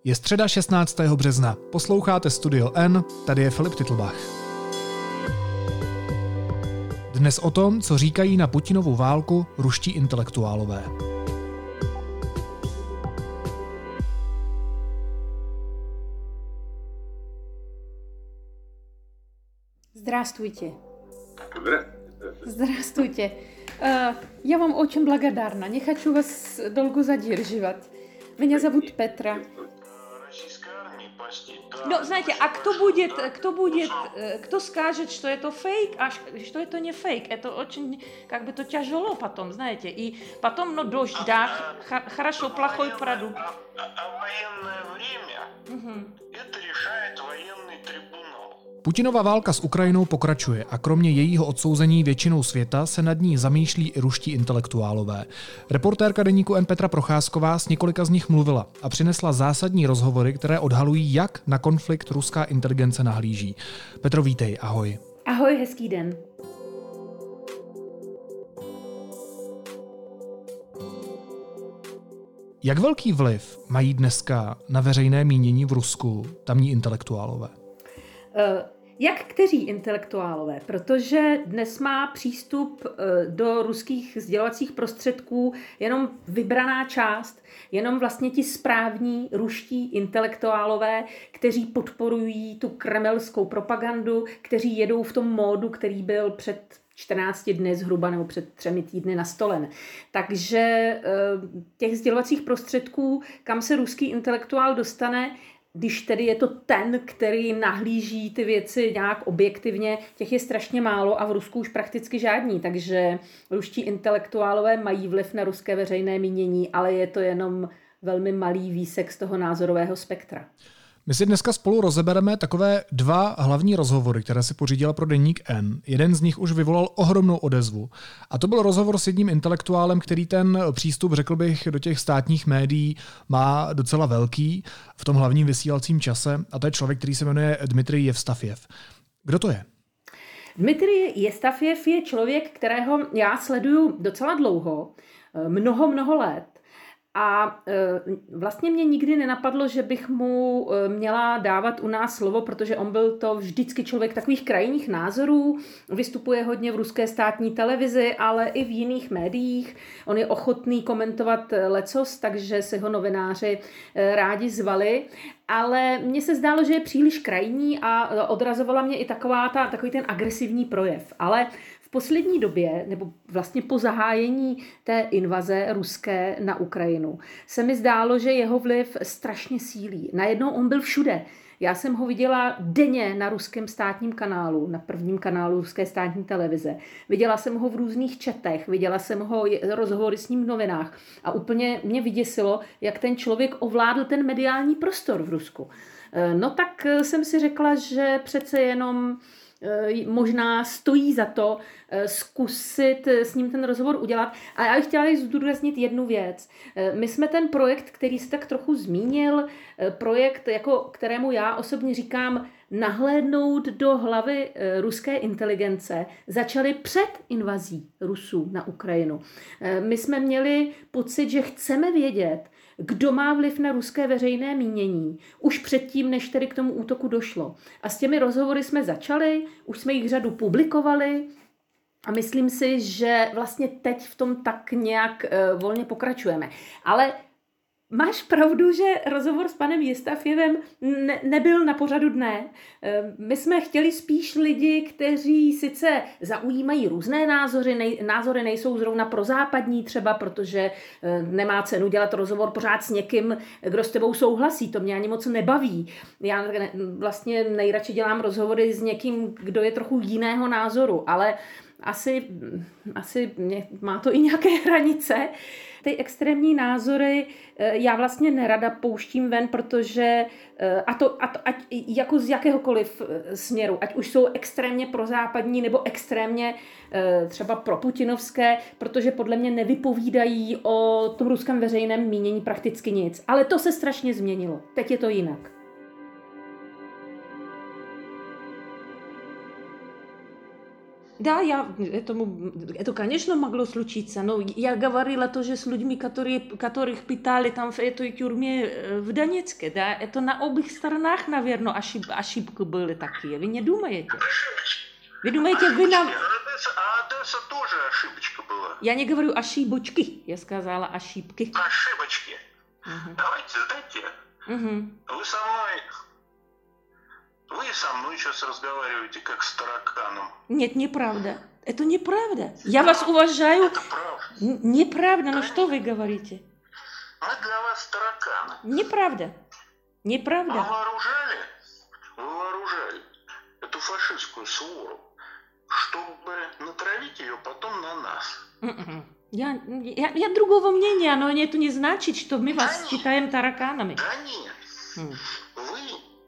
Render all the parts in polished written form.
Je středa 16. března. Posloucháte Studio N, tady je Filip Titlbach. Dnes o tom, co říkají na Putinovu válku ruští intelektuálové. Здравствуйте. Здравствуйте. Я вам очень благодарна. Не хочу вас долго задерживать. Меня зовут Петра. No, знаете, а кто скажет, что это фейк, а что это не фейк? Это очень, то тяжело потом, знаете. И потом, дождь, да, хорошо, плохой продукт. А военное время это решает военный трибунал. Putinova válka s Ukrajinou pokračuje a kromě jejího odsouzení většinou světa se nad ní zamýšlí i ruští intelektuálové. Reportérka deníku N Petra Procházková s několika z nich mluvila a přinesla zásadní rozhovory, které odhalují, jak na konflikt ruská inteligence nahlíží. Petro, vítej, ahoj. Ahoj, hezký den. Jak velký vliv mají dneska na veřejné mínění v Rusku tamní intelektuálové? Jak kteří intelektuálové? Protože dnes má přístup do ruských sdělovacích prostředků jenom vybraná část, jenom vlastně ti správní ruští intelektuálové, kteří podporují tu kremelskou propagandu, kteří jedou v tom módu, který byl před 14 dny zhruba nebo před 3 týdny nastolen. Takže těch sdělovacích prostředků, kam se ruský intelektuál dostane, když tedy je to ten, který nahlíží ty věci nějak objektivně, těch je strašně málo a v Rusku už prakticky žádní, takže ruští intelektuálové mají vliv na ruské veřejné mínění, ale je to jenom velmi malý výsek z toho názorového spektra. My si dneska spolu rozebereme takové 2 hlavní rozhovory, které si pořídila pro deník N. Jeden z nich už vyvolal ohromnou odezvu. A to byl rozhovor s jedním intelektuálem, který ten přístup, řekl bych, do těch státních médií má docela velký v tom hlavním vysílacím čase. A to je člověk, který se jmenuje Dmitrij Jevstafjev. Kdo to je? Dmitrij Jevstafjev je člověk, kterého já sleduju docela dlouho, mnoho let. A vlastně mě nikdy nenapadlo, že bych mu měla dávat u nás slovo, protože on byl to vždycky člověk takových krajních názorů, vystupuje hodně v ruské státní televizi, ale i v jiných médiích. On je ochotný komentovat lecos, takže si ho novináři rádi zvali. Ale mně se zdálo, že je příliš krajní a odrazovala mě i takový ten agresivní projev. Ale v poslední době, nebo vlastně po zahájení té invaze ruské na Ukrajinu, se mi zdálo, že jeho vliv strašně sílí. Najednou on byl všude. Já jsem ho viděla denně na ruském státním kanálu, na prvním kanálu ruské státní televize. Viděla jsem ho v různých četech, viděla jsem ho rozhovory s ním v novinách a úplně mě vyděsilo, jak ten člověk ovládl ten mediální prostor v Rusku. No tak jsem si řekla, že přece jenom možná stojí za to zkusit s ním ten rozhovor udělat. A já bych chtěla zdůraznit jednu věc. My jsme ten projekt, který se tak trochu zmínil, projekt, kterému já osobně říkám nahlédnout do hlavy ruské inteligence, začali před invazí Rusů na Ukrajinu. My jsme měli pocit, že chceme vědět, kdo má vliv na ruské veřejné mínění, už předtím, než tedy k tomu útoku došlo. A s těmi rozhovory jsme začali, už jsme jich řadu publikovali a myslím si, že vlastně teď v tom tak nějak volně pokračujeme. Ale máš pravdu, že rozhovor s panem Jevstafjevem nebyl na pořadu dne. My jsme chtěli spíš lidi, kteří sice zaujímají různé názory nejsou zrovna prozápadní třeba, protože nemá cenu dělat rozhovor pořád s někým, kdo s tebou souhlasí. To mě ani moc nebaví. Já vlastně nejradši dělám rozhovory s někým, kdo je trochu jiného názoru, ale asi má to i nějaké hranice. Ty extrémní názory já vlastně nerada pouštím ven, protože ať jako z jakéhokoliv směru, ať už jsou extrémně prozápadní nebo extrémně třeba proputinovské, protože podle mě nevypovídají o tom ruském veřejném mínění prakticky nic. Ale to se strašně změnilo. Teď je to jinak. Да, это, конечно, могло случиться, но я говорила тоже с людьми, которых пытали там в этой тюрьме в Донецке, да, это на обеих сторонах, наверное, ошибки были такие, вы не думаете? Вы думаете, вы нам... А Одесса тоже ошибочка была. Я не говорю ошибочки, я сказала ошибки. Ошибочки. Давайте, сдайте. Вы со мной сейчас разговариваете как с тараканом. Нет, неправда. Это неправда. Я вас уважаю. Это правда. Неправда, но что вы говорите? Мы для вас тараканы. Неправда. Неправда. Вы вооружали эту фашистскую свору, чтобы натравить ее потом на нас. Я другого мнения, но это не значит, что мы вас считаем тараканами. Да нет. Вы.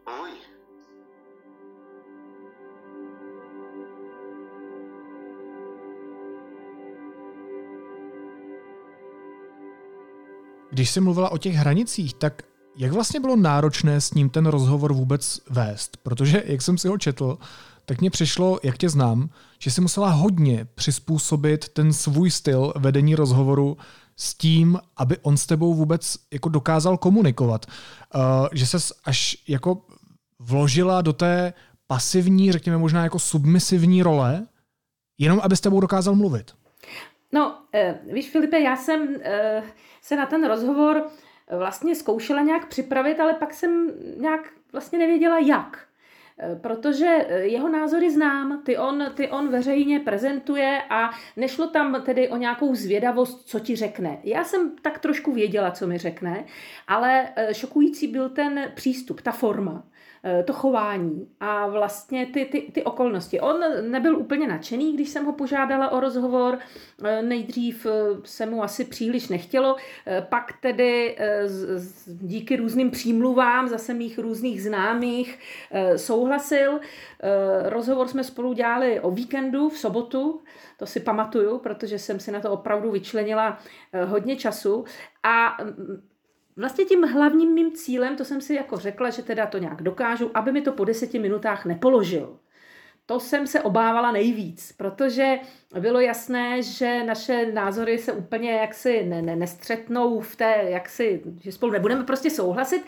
Když jsi mluvila o těch hranicích, tak jak vlastně bylo náročné s ním ten rozhovor vůbec vést? Protože, jak jsem si ho četl, tak mně přišlo, jak tě znám, že jsi musela hodně přizpůsobit ten svůj styl vedení rozhovoru s tím, aby on s tebou vůbec jako dokázal komunikovat. Že ses až jako vložila do té pasivní, řekněme možná jako submisivní role, jenom aby s tebou dokázal mluvit. No, víš, Filipe, já jsem se na ten rozhovor vlastně zkoušela nějak připravit, ale pak jsem nějak vlastně nevěděla jak. Protože jeho názory znám, ty on veřejně prezentuje a nešlo tam tedy o nějakou zvědavost, co ti řekne. Já jsem tak trošku věděla, co mi řekne, ale šokující byl ten přístup, ta forma, to chování a vlastně ty okolnosti. On nebyl úplně nadšený, když jsem ho požádala o rozhovor. Nejdřív se mu asi příliš nechtělo, pak tedy díky různým přímluvám zase mých různých známých souhlasil. Rozhovor jsme spolu dělali o víkendu v sobotu, to si pamatuju, protože jsem si na to opravdu vyčlenila hodně času a vlastně tím hlavním mým cílem, to jsem si jako řekla, že teda to nějak dokážu, aby mi to po 10 minutách nepoložil. To jsem se obávala nejvíc, protože bylo jasné, že naše názory se úplně jaksi nestřetnou v té, jaksi, že spolu nebudeme prostě souhlasit.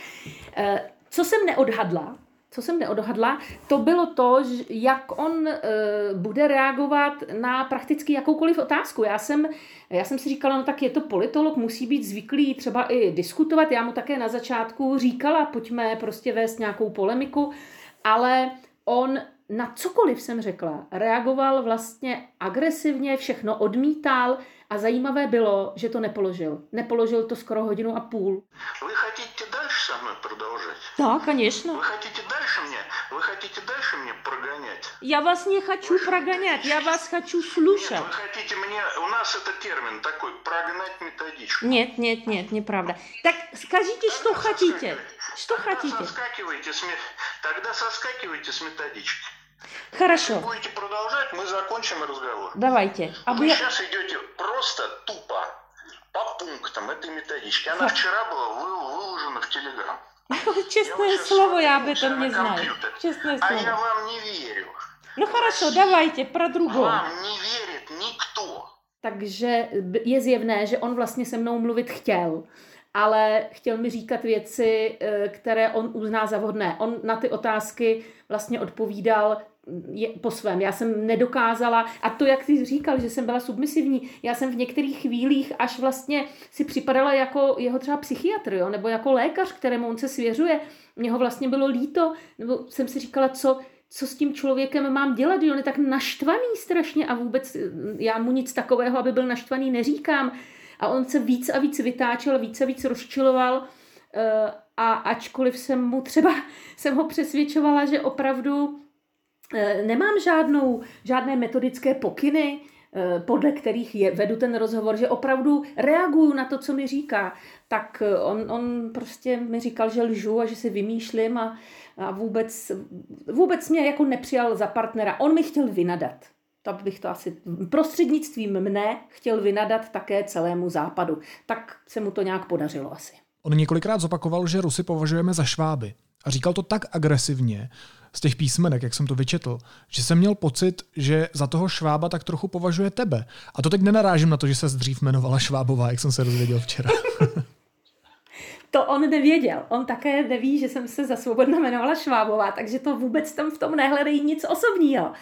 Co jsem neodhadla, to bylo to, jak on bude reagovat na prakticky jakoukoliv otázku. Já jsem si říkala, no tak je to politolog, musí být zvyklý třeba i diskutovat. Já mu také na začátku říkala, pojďme prostě vést nějakou polemiku, ale on na cokoliv jsem řekla, reagoval vlastně agresivně, všechno odmítal a zajímavé bylo, že to nepoložil. Nepoložil to skoro 1,5 hodiny. Вы хотите дальше со мной продолжать? Да, конечно. Вы хотите дальше мне прогонять? Я вас не хочу прогонять, я вас хочу слушать. Нет, вы хотите мне... У нас это термин такой, прогнать методичку. Нет, неправда. Так скажите, что хотите. Что хотите? Тогда соскакивайте с методички. Хорошо. Если будете продолжать, мы закончим разговор. Давайте. Вы сейчас идете просто тупо по пунктам этой методички. Она вчера была выложена в Телеграм. Честное слово, я об этом не знаю. Честное слово. А я вам не верю. Ну хорошо, давайте про другого. Вам не верит никто. Takže je zjevné, že on vlastně se mnou mluvit chtěl, ale chtěl mi říkat věci, které on uzná za vhodné. On na ty otázky vlastně odpovídal po svém. Já jsem nedokázala, a to, jak jsi říkal, že jsem byla submisivní, já jsem v některých chvílích až vlastně si připadala jako jeho třeba psychiatr, jo? Nebo jako lékař, kterému on se svěřuje. Mně ho vlastně bylo líto, nebo jsem si říkala, co s tím člověkem mám dělat, že on je tak naštvaný strašně a vůbec já mu nic takového, aby byl naštvaný, neříkám. A on se víc a víc vytáčel, víc a víc rozčiloval a ačkoliv jsem ho přesvědčovala, že opravdu nemám žádné metodické pokyny, podle kterých vedu ten rozhovor, že opravdu reaguju na to, co mi říká, tak on prostě mi říkal, že lžu a že si vymýšlím a vůbec mě jako nepřijal za partnera. On mi chtěl vynadat. Tak bych to asi prostřednictvím mne chtěl vynadat také celému západu. Tak se mu to nějak podařilo asi. On několikrát zopakoval, že Rusy považujeme za šváby. A říkal to tak agresivně z těch písmenek, jak jsem to vyčetl, že jsem měl pocit, že za toho Švába tak trochu považuje tebe. A to teď nenarážím na to, že se dřív jmenovala Švábová, jak jsem se dozvěděl včera. To on nevěděl. On také neví, že jsem se za Svobodna jmenovala Švábová, takže to vůbec tam v tom nehledají nic osobního.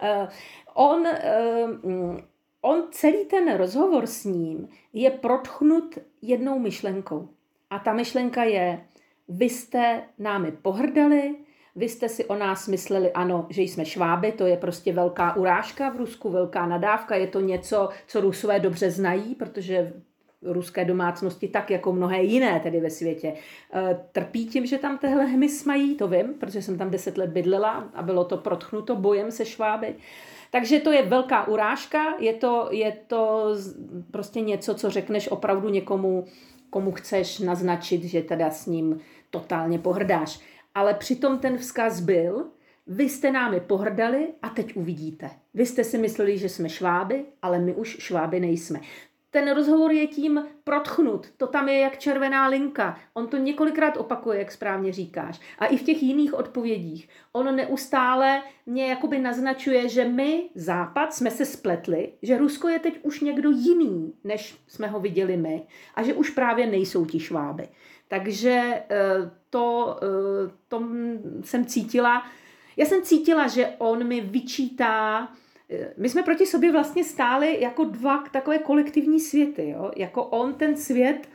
On celý ten rozhovor s ním je protchnut jednou myšlenkou. A ta myšlenka je, vy jste námi pohrdali, vy jste si o nás mysleli, ano, že jsme Šváby, to je prostě velká urážka v Rusku, velká nadávka, je to něco, co Rusové dobře znají, protože ruské domácnosti, tak jako mnohé jiné tedy ve světě, trpí tím, že tam tehle hmyz mají, to vím, protože jsem tam 10 let bydlela a bylo to protchnuto bojem se Šváby. Takže to je velká urážka, je to prostě něco, co řekneš opravdu někomu, komu chceš naznačit, že teda s ním totálně pohrdáš. Ale přitom ten vzkaz byl, vy jste námi pohrdali a teď uvidíte. Vy jste si mysleli, že jsme Šváby, ale my už Šváby nejsme. Ten rozhovor je tím protchnut, to tam je jak červená linka. On to několikrát opakuje, jak správně říkáš. A i v těch jiných odpovědích. On neustále mě jakoby naznačuje, že my, Západ, jsme se spletli, že Rusko je teď už někdo jiný, než jsme ho viděli my. A že už právě nejsou ti Šváby. Takže to jsem cítila. Já jsem cítila, že on mi vyčítá. My jsme proti sobě vlastně stáli jako dva takové kolektivní světy. Jo? Jako on, ten svět,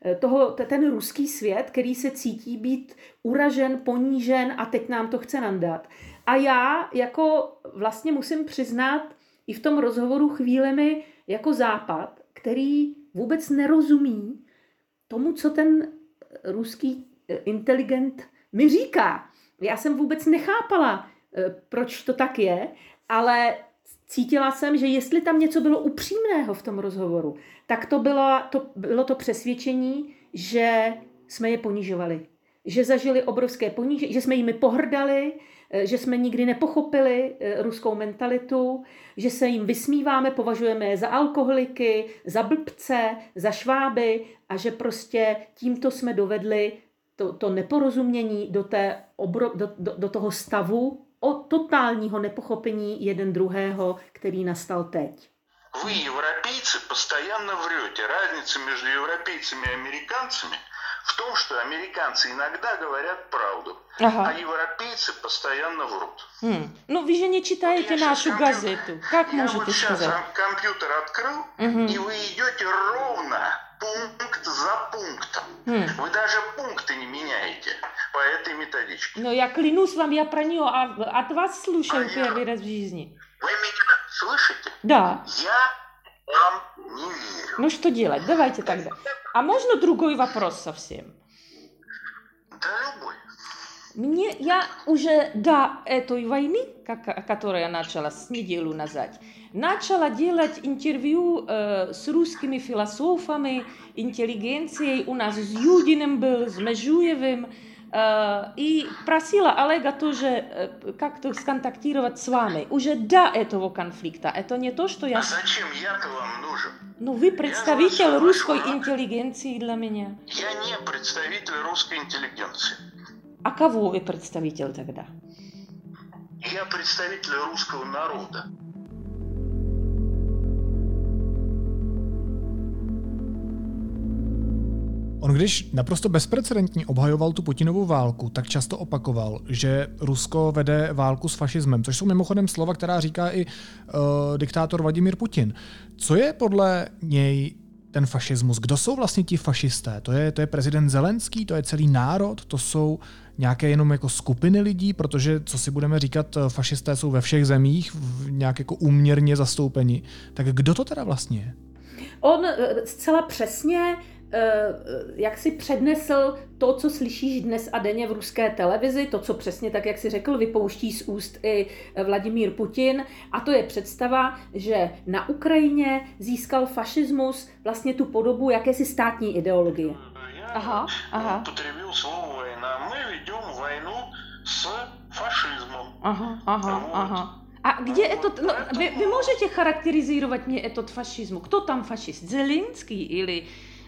ten ruský svět, který se cítí být uražen, ponížen a teď nám to chce nandat. A já jako vlastně musím přiznat i v tom rozhovoru chvílemi jako Západ, který vůbec nerozumí tomu, co ten ruský inteligent mi říká. Já jsem vůbec nechápala, proč to tak je, ale cítila jsem, že jestli tam něco bylo upřímného v tom rozhovoru, tak to bylo to přesvědčení, že jsme je ponižovali. Že zažili obrovské ponížení, že jsme jimi pohrdali, že jsme nikdy nepochopili ruskou mentalitu, že se jim vysmíváme, považujeme je za alkoholiky, za blbce, za Šváby a že prostě tímto jsme dovedli to neporozumění do toho stavu o totálního nepochopení jeden druhého, který nastal teď. Вы, европейцы, постоянно врете. Разница между европейцами и американцами в том, что американцы иногда говорят правду, а европейцы постоянно врут. Ну, вы же не читаете нашу газету. Как можете сказать? Я вот сейчас компьютер открыл, и вы идете ровно пункт за пунктом. Вы даже пункты не меняете по этой методичке. No, já klянусь vám, já pro něho a от вас слушаю первый раз в жизни. Вы меня слышите? Да. Я вам не верю. Ну, что делать? Давайте тогда. А можно другой вопрос совсем? Да любой. Я уже до этой войны, которая началась неделю назад, начала делать интервью с русскими философами, интеллигенцией. У нас с Юдиным был, с Межуевым. И просила Олега тоже как-то сконтактировать с вами. Уже до этого конфликта. Это не то, что я... А зачем я-то вам нужен? Ну, вы представитель русской интеллигенции для меня. Я не представитель русской интеллигенции. А кого вы представитель тогда? Я представитель русского народа. On když naprosto bezprecedentně obhajoval tu Putinovu válku, tak často opakoval, že Rusko vede válku s fašismem, což jsou mimochodem slova, která říká i diktátor Vladimír Putin. Co je podle něj ten fašismus? Kdo jsou vlastně ti fašisté? To je prezident Zelenský, to je celý národ, to jsou nějaké jenom jako skupiny lidí, protože, co si budeme říkat, fašisté jsou ve všech zemích nějak jako úměrně zastoupeni. Tak kdo to teda vlastně je? On zcela přesně jak si přednesl to, co slyšíš dnes a denně v ruské televizi, to, co přesně tak, jak si řekl, vypouští z úst i Vladimír Putin. A to je představa, že na Ukrajině získal fašismus vlastně tu podobu jakési státní ideologie. Aha. Potrебил слово война. Мы ведем войну с фашизмом. Aha. A kde je to, no, vy můžete charakterizovat mě этот fašismus? Kdo tam fašist? Zelenský ili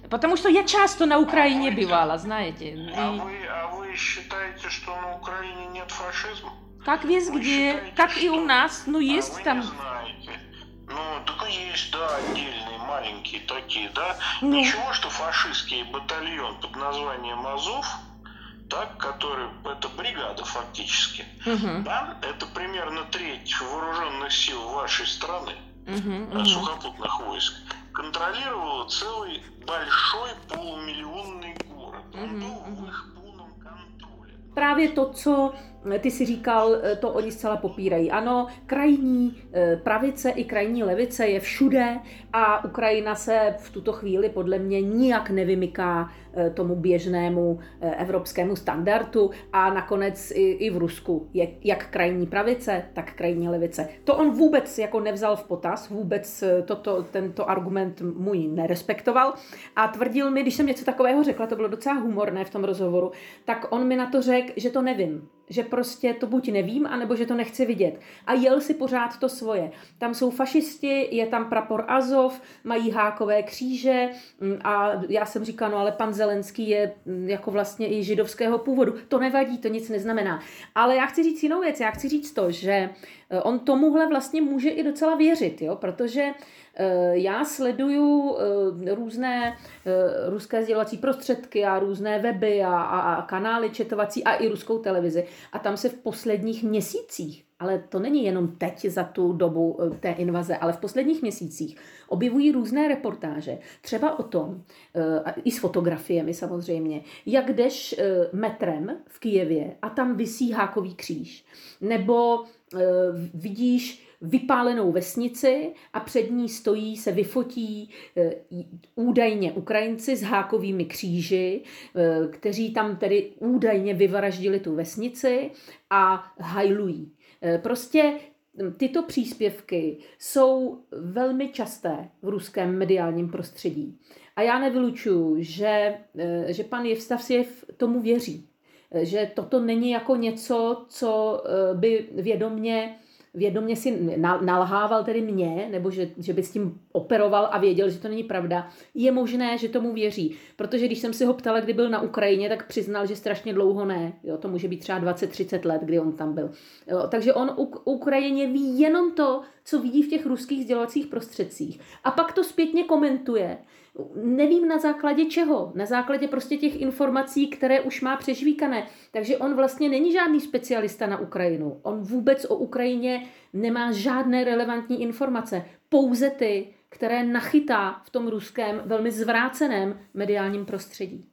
Потому что я часто на Украине бывала, знаете. А вы считаете, что на Украине нет фашизма? Как везде, как и у нас, ну есть вы там... не знаете. Ну, так есть, да, отдельные маленькие такие, да. Ну. Ничего, что фашистский батальон под названием Азов, так, который, это бригада фактически, да, это примерно треть вооруженных сил вашей страны, сухопутных войск, контролировала целый большой полумиллионный город. Он был в их полном контроле. Právě to, co ty si říkal, to oni zcela popírají. Ano, krajní pravice i krajní levice je všude a Ukrajina se v tuto chvíli podle mě nijak nevymyká tomu běžnému evropskému standardu a nakonec i v Rusku je jak krajní pravice, tak krajní levice. To on vůbec jako nevzal v potaz, vůbec tento argument můj nerespektoval a tvrdil mi, když jsem něco takového řekla, to bylo docela humorné v tom rozhovoru, tak on mi na to řekl, že to nevím. Že prostě to buď nevím, anebo že to nechci vidět. A jel si pořád to svoje. Tam jsou fašisti, je tam prapor Azov, mají hákové kříže a já jsem říkala, no ale pan Zelenský je jako vlastně i židovského původu. To nevadí, to nic neznamená. Ale já chci říct jinou věc, já chci říct to, že on tomuhle vlastně může i docela věřit, jo? Protože já sleduju různé ruské sdělovací prostředky a různé weby a kanály četovací a i ruskou televizi. A tam se v posledních měsících, ale to není jenom teď za tu dobu té invaze, ale v posledních měsících objevují různé reportáže, třeba o tom, i s fotografiemi samozřejmě, jak jdeš metrem v Kyjevě a tam visí hákový kříž. Nebo vidíš vypálenou vesnici a před ní stojí, se vyfotí údajně Ukrajinci s hákovými kříži, kteří tam tedy údajně vyvraždili tu vesnici a hajlují. Prostě tyto příspěvky jsou velmi časté v ruském mediálním prostředí. A já nevylučuju, že pan Jevstafjev tomu věří. Že toto není jako něco, co by vědomě si nalhával tedy mě, nebo že by s tím operoval a věděl, že to není pravda. Je možné, že tomu věří. Protože když jsem si ho ptala, kdy byl na Ukrajině, tak přiznal, že strašně dlouho ne. Jo, to může být třeba 20-30 let, kdy on tam byl. Jo, takže on Ukrajině ví jenom to, co vidí v těch ruských sdělovacích prostředcích. A pak to zpětně komentuje. Nevím na základě čeho. Na základě prostě těch informací, které už má přežvíkané. Takže on vlastně není žádný specialista na Ukrajinu. On vůbec o Ukrajině nemá žádné relevantní informace. Pouze ty, které nachytá v tom ruském velmi zvráceném mediálním prostředí.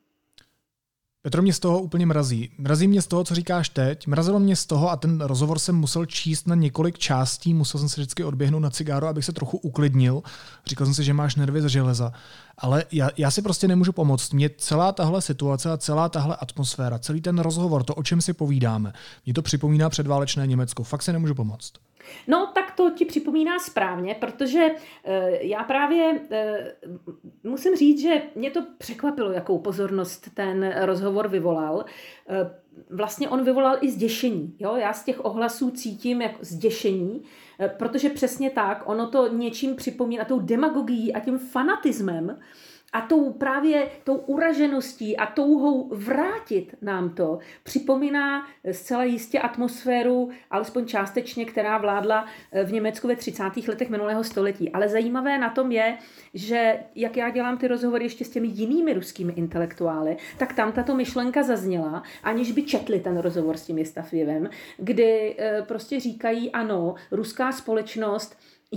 Petro, mě z toho úplně mrazí. Mrazí mě z toho, co říkáš teď. Mrazilo mě z toho a ten rozhovor jsem musel číst na několik částí. Musel jsem si vždycky odběhnout na cigáro, abych se trochu uklidnil. Říkal jsem si, že máš nervy ze železa. Ale já si prostě nemůžu pomoct. Mě celá tahle situace a celá tahle atmosféra, celý ten rozhovor, to, o čem si povídáme, mě to připomíná předválečné Německo. Fakt si nemůžu pomoct. No, tak to ti připomíná správně, protože já právě musím říct, že mě to překvapilo, jakou pozornost ten rozhovor vyvolal. Vlastně on vyvolal i zděšení. Jo? Já z těch ohlasů cítím jako zděšení, protože přesně tak, ono to něčím připomíná tou demagogií a tím fanatismem a tou uražeností a touhou vrátit nám to připomíná zcela jistě atmosféru, alespoň částečně, která vládla v Německu ve 30. letech minulého století. Ale zajímavé na tom je, že jak já dělám ty rozhovory ještě s těmi jinými ruskými intelektuály, tak tam tato myšlenka zazněla, aniž by četli ten rozhovor s tím Jevstafjevem, kdy prostě říkají, ano, ruská společnost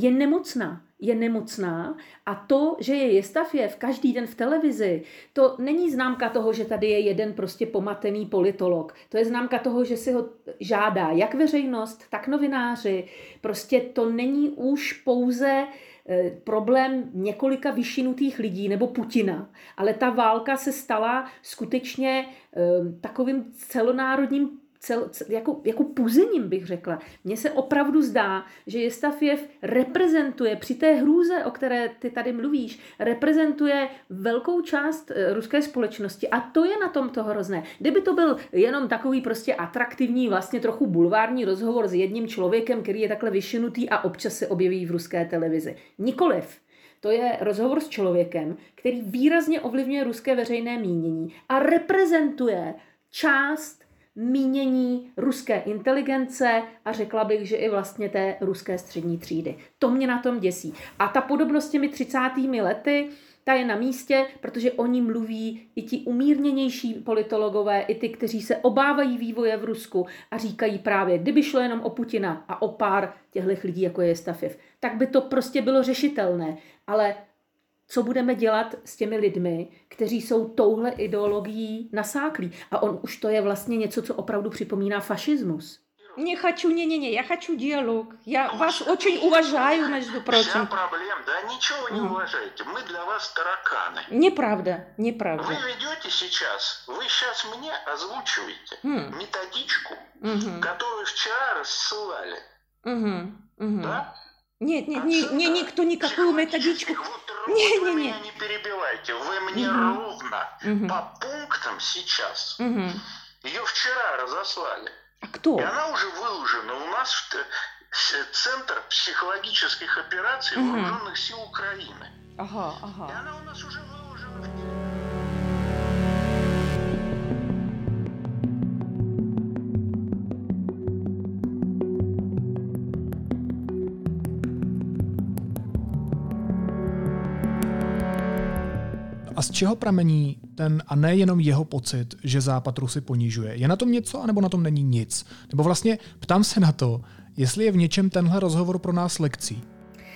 je nemocná a to, že je Jevstafjev každý den v televizi, to není známka toho, že tady je jeden prostě pomatený politolog. To je známka toho, že si ho žádá jak veřejnost, tak novináři. Prostě to není už pouze problém několika vyšinutých lidí nebo Putina, ale ta válka se stala skutečně takovým celonárodním jako puzením, bych řekla. Mně se opravdu zdá, že Jevstafjev reprezentuje při té hrůze, o které ty tady mluvíš, reprezentuje velkou část ruské společnosti a to je na tom to hrozné. Kdyby to byl jenom takový prostě atraktivní, vlastně trochu bulvární rozhovor s jedním člověkem, který je takhle vyšinutý a občas se objeví v ruské televizi. Nikoliv. To je rozhovor s člověkem, který výrazně ovlivňuje ruské veřejné mínění a reprezentuje část mínění ruské inteligence a řekla bych, že i vlastně té ruské střední třídy. To mě na tom děsí. A ta podobnost s těmi 30. lety, ta je na místě, protože o ní mluví i ti umírněnější politologové, i ty, kteří se obávají vývoje v Rusku a říkají právě, kdyby šlo jenom o Putina a o pár těchto lidí, jako je Jestafjev, tak by to prostě bylo řešitelné. Ale co budeme dělat s těmi lidmi, kteří jsou touhle ideologií nasáklí? A on už to je vlastně něco, co opravdu připomíná fašismus. Не хочу, не-не-не, я хочу диалог. Я вас очень уважаю, между прочим. Вся проблема, да ничего не уважаете, мы для вас тараканы. Неправда, неправда. Вы ведете сейчас, вы сейчас мне озвучиваете методичку, которую вчера рассылали. Да? Нет, никто никакую методичку. Вы меня не перебивайте, вы мне ровно по пунктам сейчас. Ее вчера разослали. А кто? И она уже выложена у нас в Центр психологических операций Вооруженных сил Украины. Ага. И она у нас уже выложена. A z čeho pramení ten, a nejenom jeho pocit, že Západ Rusy ponižuje? Je na tom něco, anebo na tom není nic? Nebo vlastně ptám se na to, jestli je v něčem tenhle rozhovor pro nás lekcí.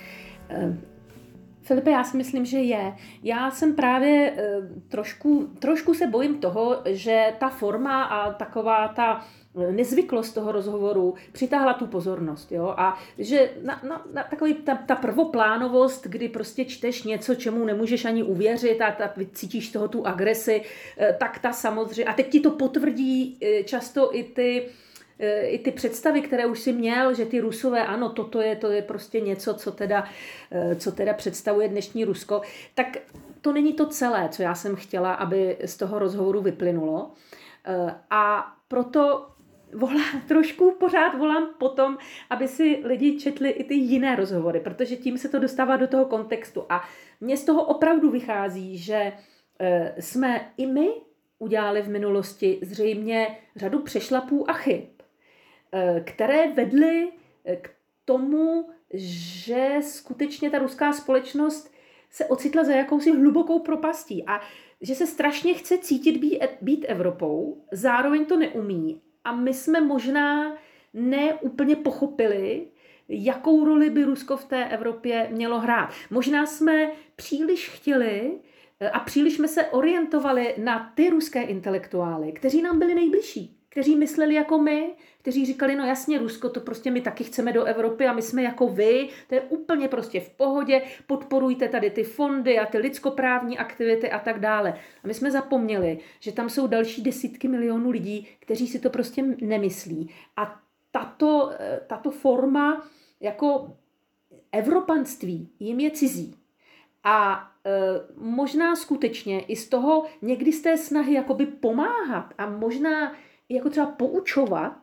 Filipe, já si myslím, že je. Já jsem právě trošku se bojím toho, že ta forma a taková ta nezvyklost toho rozhovoru přitáhla tu pozornost. Jo? A že na takový ta prvoplánovost, kdy prostě čteš něco, čemu nemůžeš ani uvěřit a cítíš z toho tu agresi, tak ta samozřejmě, a teď ti to potvrdí často i ty představy, které už si měl, že ty Rusové, ano, to je prostě něco, co teda představuje dnešní Rusko, tak to není to celé, co já jsem chtěla, aby z toho rozhovoru vyplynulo. A proto pořád volám potom, aby si lidi četli i ty jiné rozhovory, protože tím se to dostává do toho kontextu. A mně z toho opravdu vychází, že jsme i my udělali v minulosti zřejmě řadu přešlapů a chyb, které vedly k tomu, že skutečně ta ruská společnost se ocitla za jakousi hlubokou propastí a že se strašně chce cítit být Evropou, zároveň to neumí. A my jsme možná neúplně pochopili, jakou roli by Rusko v té Evropě mělo hrát. Možná jsme příliš chtěli a příliš jsme se orientovali na ty ruské intelektuály, kteří nám byli nejbližší, kteří mysleli jako my, kteří říkali, no jasně, Rusko, to prostě my taky chceme do Evropy a my jsme jako vy, to je úplně prostě v pohodě, podporujte tady ty fondy a ty lidskoprávní aktivity a tak dále. A my jsme zapomněli, že tam jsou další desítky milionů lidí, kteří si to prostě nemyslí. A tato forma jako evropanství jim je cizí. A možná skutečně i z toho, někdy z té snahy jakoby pomáhat a možná jako třeba poučovat,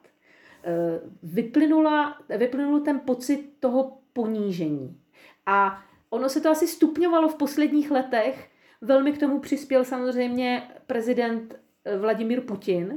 vyplynul ten pocit toho ponížení. A ono se to asi stupňovalo v posledních letech. Velmi k tomu přispěl samozřejmě prezident Vladimír Putin,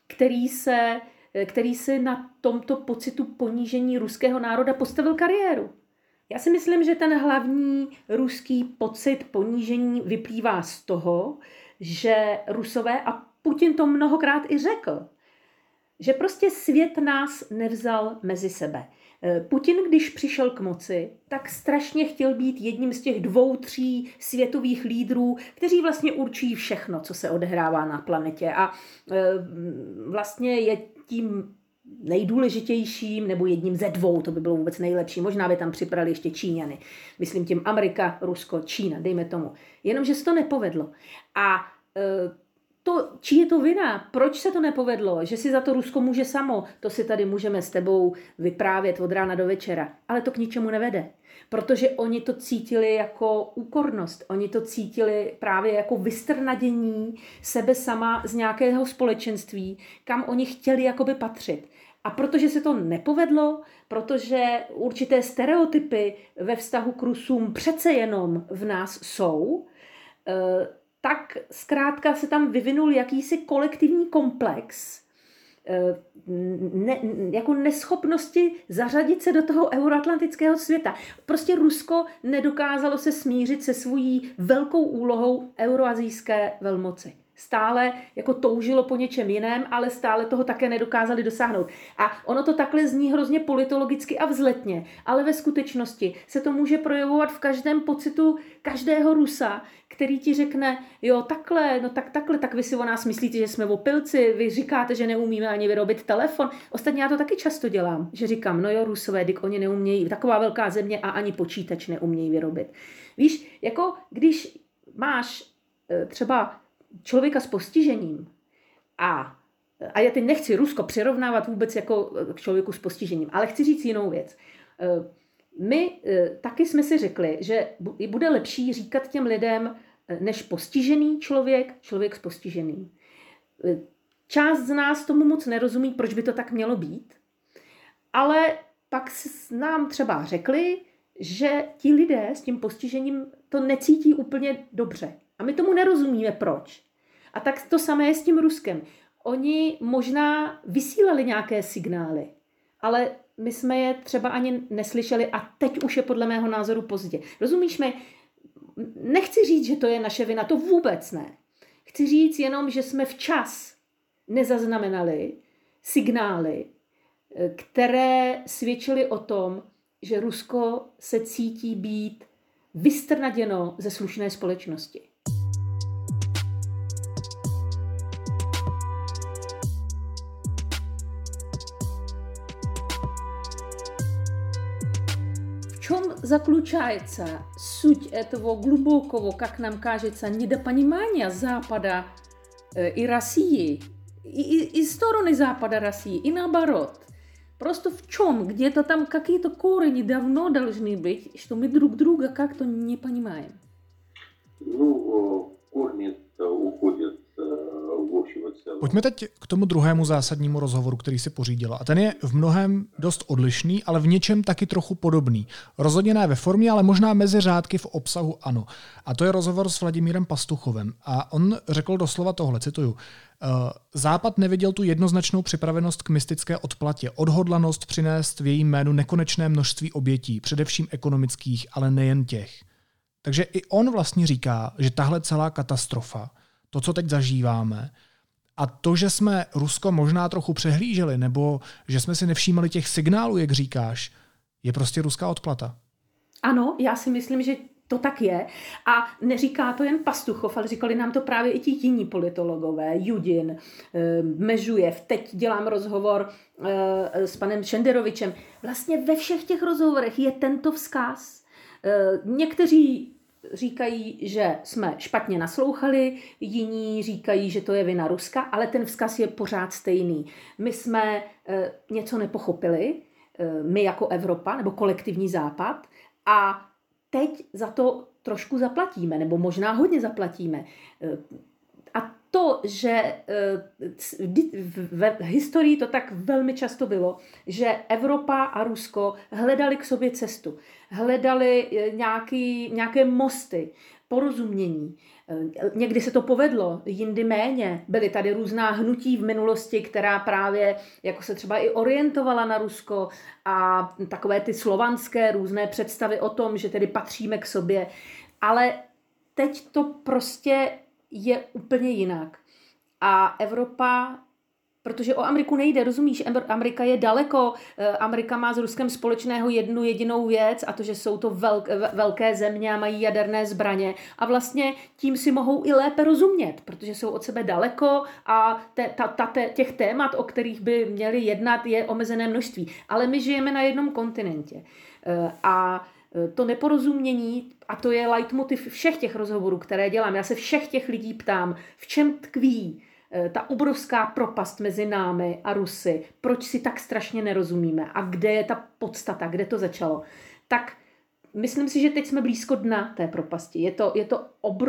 který se na tomto pocitu ponížení ruského národa postavil kariéru. Já si myslím, že ten hlavní ruský pocit ponížení vyplývá z toho, že Rusové, a Putin to mnohokrát i řekl, že prostě svět nás nevzal mezi sebe. Putin, když přišel k moci, tak strašně chtěl být jedním z těch 2-3 světových lídrů, kteří vlastně určují všechno, co se odehrává na planetě. A vlastně je tím nejdůležitějším, nebo jedním ze 2, to by bylo vůbec nejlepší. Možná by tam připravili ještě Číňany. Myslím tím Amerika, Rusko, Čína, dejme tomu. Jenomže se to nepovedlo. A čí je to vina? Proč se to nepovedlo? Že si za to Rusko může samo? To si tady můžeme s tebou vyprávět od rána do večera. Ale to k ničemu nevede. Protože oni to cítili jako úkornost. Oni to cítili právě jako vystrnadění sebe sama z nějakého společenství, kam oni chtěli jakoby patřit. A protože se to nepovedlo, protože určité stereotypy ve vztahu k Rusům přece jenom v nás jsou, tak zkrátka se tam vyvinul jakýsi kolektivní komplex jako neschopnosti zařadit se do toho euroatlantického světa. Prostě Rusko nedokázalo se smířit se svojí velkou úlohou euroazijské velmoci. Stále jako toužilo po něčem jiném, ale stále toho také nedokázali dosáhnout. A ono to takhle zní hrozně politologicky a vzletně, ale ve skutečnosti se to může projevovat v každém pocitu každého Rusa, který ti řekne, jo takhle, no takhle, tak vy si o nás myslíte, že jsme opilci, vy říkáte, že neumíme ani vyrobit telefon. Ostatně já to taky často dělám, že říkám, no jo Rusové, dik oni neumějí, taková velká země a ani počítač neumějí vyrobit. Víš, jako když máš třeba člověka s postižením a já teď nechci Rusko přirovnávat vůbec jako k člověku s postižením, ale chci říct jinou věc. My taky jsme si řekli, že bude lepší říkat těm lidem než postižený člověk s postiženým. Část z nás tomu moc nerozumí, proč by to tak mělo být, ale pak nám třeba řekli, že ti lidé s tím postižením to necítí úplně dobře. A my tomu nerozumíme, proč. A tak to samé je s tím Ruskem. Oni možná vysílali nějaké signály, ale my jsme je třeba ani neslyšeli a teď už je podle mého názoru pozdě. Rozumíš mi? Nechci říct, že to je naše vina, to vůbec ne. Chci říct jenom, že jsme včas nezaznamenali signály, které svědčily o tom, že Rusko se cítí být vystrnaděno ze slušné společnosti. В чем заключается суть этого глубокого, как нам кажется, недопонимания Запада и России, и стороны Запада России, и наоборот? Просто в чем? Где-то там какие-то корни давно должны быть, что мы друг друга как-то не понимаем. Ну, корни-то уходят в общем и целом. Pojďme teď k tomu druhému zásadnímu rozhovoru, který si pořídila. A ten je v mnohém dost odlišný, ale v něčem taky trochu podobný. Rozhodně ne ve formě, ale možná mezi řádky v obsahu ano. A to je rozhovor s Vladimírem Pastuchovem. A on řekl doslova tohle, cituju. Západ neviděl tu jednoznačnou připravenost k mystické odplatě, odhodlanost přinést v jejím jménu nekonečné množství obětí, především ekonomických, ale nejen těch. Takže i on vlastně říká, že tahle celá katastrofa, to, co teď zažíváme, a to, že jsme Rusko možná trochu přehlíželi, nebo že jsme si nevšímali těch signálů, jak říkáš, je prostě ruská odplata. Ano, já si myslím, že to tak je. A neříká to jen Pastuchov, ale říkali nám to právě i ti jiní politologové. Judin, Mežujev, teď dělám rozhovor s panem Šenderovičem. Vlastně ve všech těch rozhovorech je tento vzkaz. Někteří říkají, že jsme špatně naslouchali, jiní říkají, že to je vina Ruska, ale ten vzkaz je pořád stejný. My jsme něco nepochopili, my jako Evropa nebo kolektivní Západ, a teď za to trošku zaplatíme, nebo možná hodně zaplatíme. A to, že v historii to tak velmi často bylo, že Evropa a Rusko hledali k sobě cestu, hledali nějaké mosty, porozumění. Někdy se to povedlo, jindy méně. Byly tady různá hnutí v minulosti, která právě jako se třeba i orientovala na Rusko a takové ty slovanské různé představy o tom, že tedy patříme k sobě. Ale teď to prostě je úplně jinak. A Evropa, protože o Ameriku nejde, rozumíš, Amerika je daleko, Amerika má s Ruskem společného jednu jedinou věc, a to, že jsou to velké země a mají jaderné zbraně a vlastně tím si mohou i lépe rozumět, protože jsou od sebe daleko a těch témat, o kterých by měli jednat, je omezené množství. Ale my žijeme na jednom kontinentě a to neporozumění, a to je leitmotiv všech těch rozhovorů, které dělám. Já se všech těch lidí ptám, v čem tkví ta obrovská propast mezi námi a Rusy, proč si tak strašně nerozumíme a kde je ta podstata, kde to začalo. Tak myslím si, že teď jsme blízko dna té propasti. Je to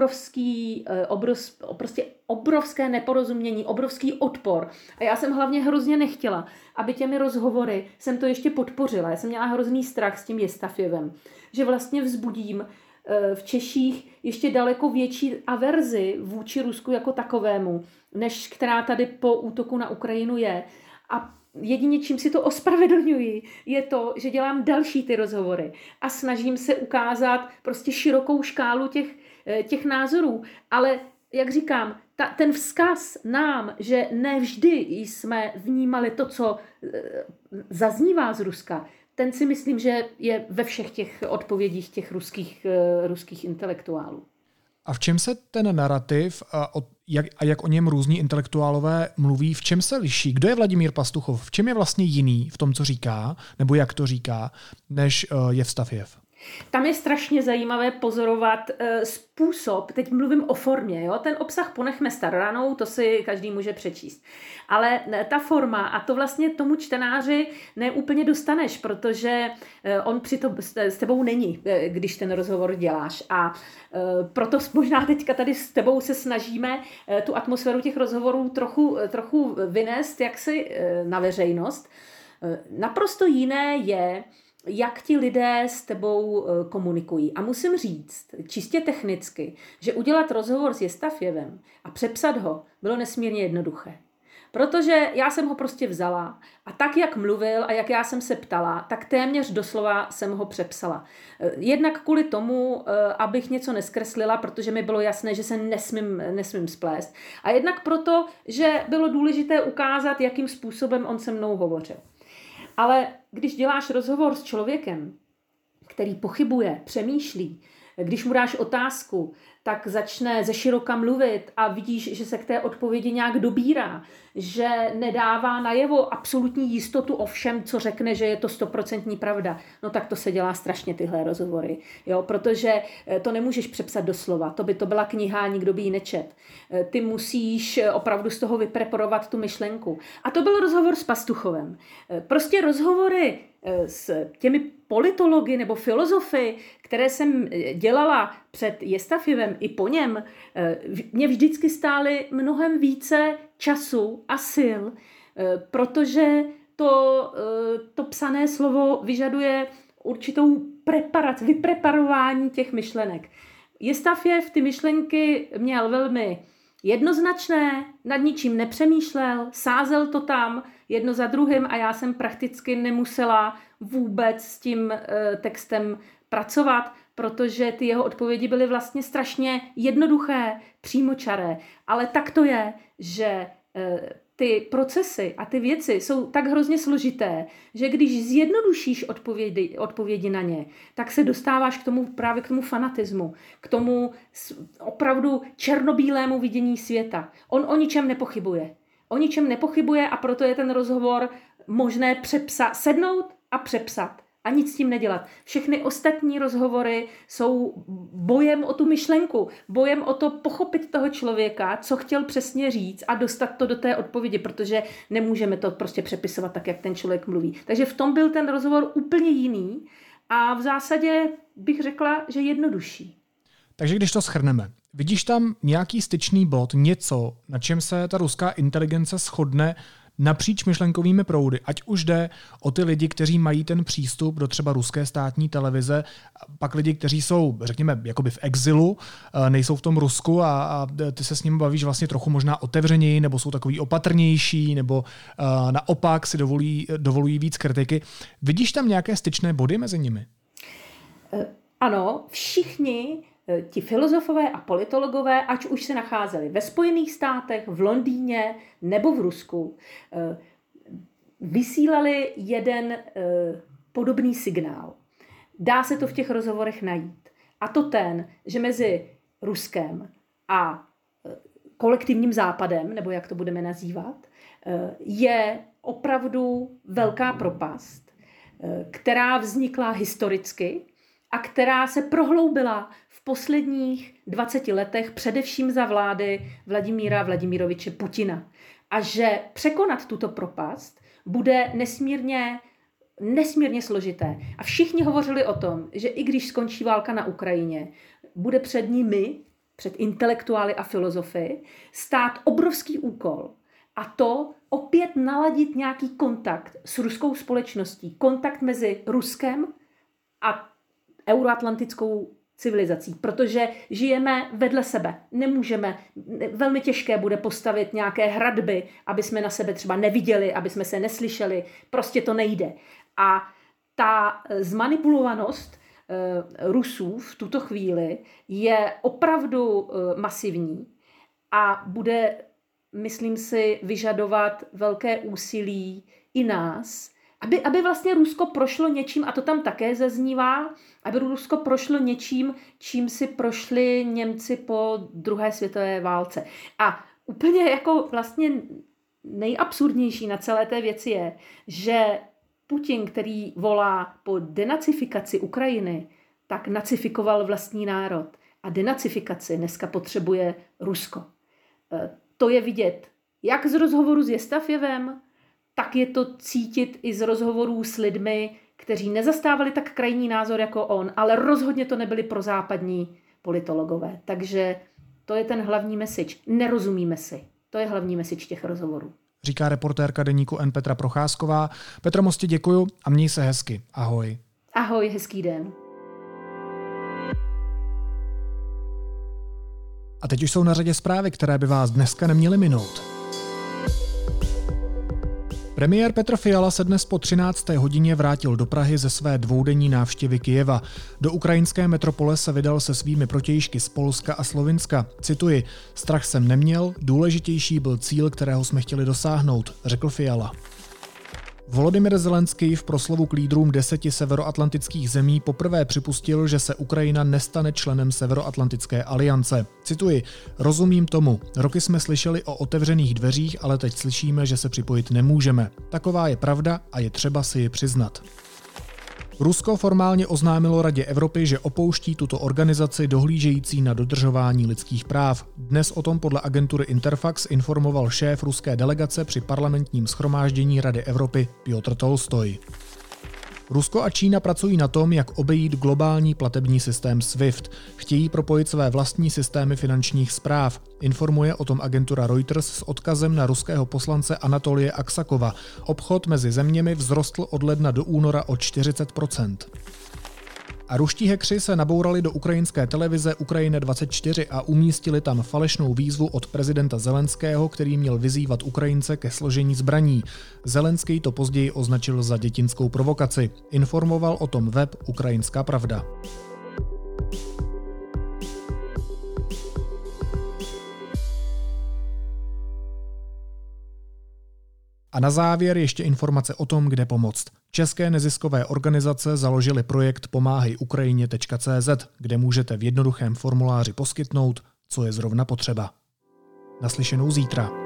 prostě obrovské neporozumění, obrovský odpor. A já jsem hlavně hrozně nechtěla, aby těmi rozhovory jsem to ještě podpořila. Já jsem měla hrozný strach s tím Jestafjevem, že vlastně vzbudím v Češích ještě daleko větší averzi vůči Rusku jako takovému, než která tady po útoku na Ukrajinu je. A jedině, čím si to ospravedlňuji, je to, že dělám další ty rozhovory a snažím se ukázat prostě širokou škálu těch názorů. Ale, jak říkám, ten vzkaz nám, že ne vždy jsme vnímali to, co zaznívá z Ruska, ten si myslím, že je ve všech těch odpovědích těch ruských intelektuálů. A v čem se ten narrativ a jak o něm různí intelektuálové mluví, v čem se liší? Kdo je Vladimír Pastuchov? V čem je vlastně jiný v tom, co říká, nebo jak to říká, než Jevstafjev? Tam je strašně zajímavé pozorovat způsob, teď mluvím o formě, jo? Ten obsah ponechme staroranou, to si každý může přečíst. Ale ta forma, a to vlastně tomu čtenáři neúplně dostaneš, protože on s tebou není, když ten rozhovor děláš. A proto možná teďka tady s tebou se snažíme tu atmosféru těch rozhovorů trochu vynést jaksi na veřejnost. Naprosto jiné je, jak ti lidé s tebou komunikují. A musím říct, čistě technicky, že udělat rozhovor s Jestafjevem a přepsat ho bylo nesmírně jednoduché. Protože já jsem ho prostě vzala a tak, jak mluvil a jak já jsem se ptala, tak téměř doslova jsem ho přepsala. Jednak kvůli tomu, abych něco neskreslila, protože mi bylo jasné, že se nesmím splést. A jednak proto, že bylo důležité ukázat, jakým způsobem on se mnou hovořil. Ale když děláš rozhovor s člověkem, který pochybuje, přemýšlí, když mu dáš otázku, tak začne ze široka mluvit a vidíš, že se k té odpovědi nějak dobírá, že nedává najevo absolutní jistotu o všem, co řekne, že je to 100% pravda. No tak to se dělá strašně tyhle rozhovory, jo? Protože to nemůžeš přepsat do slova, to by to byla kniha, nikdo by ji nečet. Ty musíš opravdu z toho vypreparovat tu myšlenku. A to byl rozhovor s Pastuchovem. Prostě rozhovory s těmi politology nebo filozofy, které jsem dělala před Jestafjevem i po něm, mě vždycky stály mnohem více času a sil, protože to psané slovo vyžaduje určitou vypreparování těch myšlenek. Jestafjev ty myšlenky měl velmi jednoznačné, nad ničím nepřemýšlel, sázel to tam jedno za druhým a já jsem prakticky nemusela vůbec s tím textem pracovat, protože ty jeho odpovědi byly vlastně strašně jednoduché, přímočaré. Ale tak to je, že ty procesy a ty věci jsou tak hrozně složité, že když zjednodušíš odpovědi na ně, tak se dostáváš právě k tomu fanatismu, k tomu opravdu černobílému vidění světa. On o ničem nepochybuje. O ničem nepochybuje a proto je ten rozhovor možné sednout a přepsat. A nic s tím nedělat. Všechny ostatní rozhovory jsou bojem o tu myšlenku, bojem o to pochopit toho člověka, co chtěl přesně říct a dostat to do té odpovědi, protože nemůžeme to prostě přepisovat tak, jak ten člověk mluví. Takže v tom byl ten rozhovor úplně jiný a v zásadě bych řekla, že jednodušší. Takže když to shrneme, vidíš tam nějaký styčný bod, něco, na čem se ta ruská inteligence shodne napříč myšlenkovými proudy, ať už jde o ty lidi, kteří mají ten přístup do třeba ruské státní televize, pak lidi, kteří jsou, řekněme, jakoby v exilu, nejsou v tom Rusku a ty se s nimi bavíš vlastně trochu možná otevřeněji, nebo jsou takový opatrnější, nebo naopak si dovolují víc kritiky. Vidíš tam nějaké styčné body mezi nimi? Ano, všichni ti filozofové a politologové, ať už se nacházeli ve Spojených státech, v Londýně nebo v Rusku, vysílali jeden podobný signál. Dá se to v těch rozhovorech najít. A to ten, že mezi Ruskem a kolektivním západem, nebo jak to budeme nazývat, je opravdu velká propast, která vznikla historicky a která se prohloubila v posledních 20 letech především za vlády Vladimíra Vladimiroviče Putina. A že překonat tuto propast bude nesmírně nesmírně složité. A všichni hovořili o tom, že i když skončí válka na Ukrajině, bude před nimi, před intelektuály a filozofy, stát obrovský úkol. A to opět naladit nějaký kontakt s ruskou společností. Kontakt mezi Ruskem a euroatlantickou civilizací, protože žijeme vedle sebe. Nemůžeme, velmi těžké bude postavit nějaké hradby, aby jsme na sebe třeba neviděli, aby jsme se neslyšeli. Prostě to nejde. A ta zmanipulovanost Rusů v tuto chvíli je opravdu masivní a bude, myslím si, vyžadovat velké úsilí i nás, aby vlastně Rusko prošlo něčím, a to tam také zaznívá, aby Rusko prošlo něčím, čím si prošli Němci po druhé světové válce. A úplně jako vlastně nejabsurdnější na celé té věci je, že Putin, který volá po denacifikaci Ukrajiny, tak nacifikoval vlastní národ. A denacifikaci dneska potřebuje Rusko. To je vidět jak z rozhovoru s Jestafjevem, tak je to cítit i z rozhovorů s lidmi, kteří nezastávali tak krajní názor jako on, ale rozhodně to nebyli prozápadní politologové. Takže to je ten hlavní message. Nerozumíme si. To je hlavní message těch rozhovorů. Říká reportérka deníku N Petra Procházková. Petro, moc ti děkuju a měj se hezky. Ahoj. Ahoj, hezký den. A teď už jsou na řadě zprávy, které by vás dneska neměly minout. Premiér Petr Fiala se dnes po 13. hodině vrátil do Prahy ze své dvoudenní návštěvy Kyjeva. Do ukrajinské metropole se vydal se svými protějšky z Polska a Slovinska. Cituji, strach jsem neměl, důležitější byl cíl, kterého jsme chtěli dosáhnout, řekl Fiala. Volodymyr Zelenský v proslovu k lídrům 10 severoatlantických zemí poprvé připustil, že se Ukrajina nestane členem Severoatlantické aliance. Cituji, rozumím tomu, roky jsme slyšeli o otevřených dveřích, ale teď slyšíme, že se připojit nemůžeme. Taková je pravda a je třeba si ji přiznat. Rusko formálně oznámilo Radě Evropy, že opouští tuto organizaci dohlížející na dodržování lidských práv. Dnes o tom podle agentury Interfax informoval šéf ruské delegace při parlamentním shromáždění Rady Evropy Piotr Tolstoj. Rusko a Čína pracují na tom, jak obejít globální platební systém SWIFT. Chtějí propojit své vlastní systémy finančních správ. Informuje o tom agentura Reuters s odkazem na ruského poslance Anatolije Aksakova. Obchod mezi zeměmi vzrostl od ledna do února o 40%. A ruští hackři se nabourali do ukrajinské televize Ukrajina 24 a umístili tam falešnou výzvu od prezidenta Zelenského, který měl vyzývat Ukrajince ke složení zbraní. Zelenský to později označil za dětinskou provokaci. Informoval o tom web Ukrajinská pravda. A na závěr ještě informace o tom, kde pomoct. České neziskové organizace založily projekt pomáhejukrajině.cz, kde můžete v jednoduchém formuláři poskytnout, co je zrovna potřeba. Naslyšenou zítra.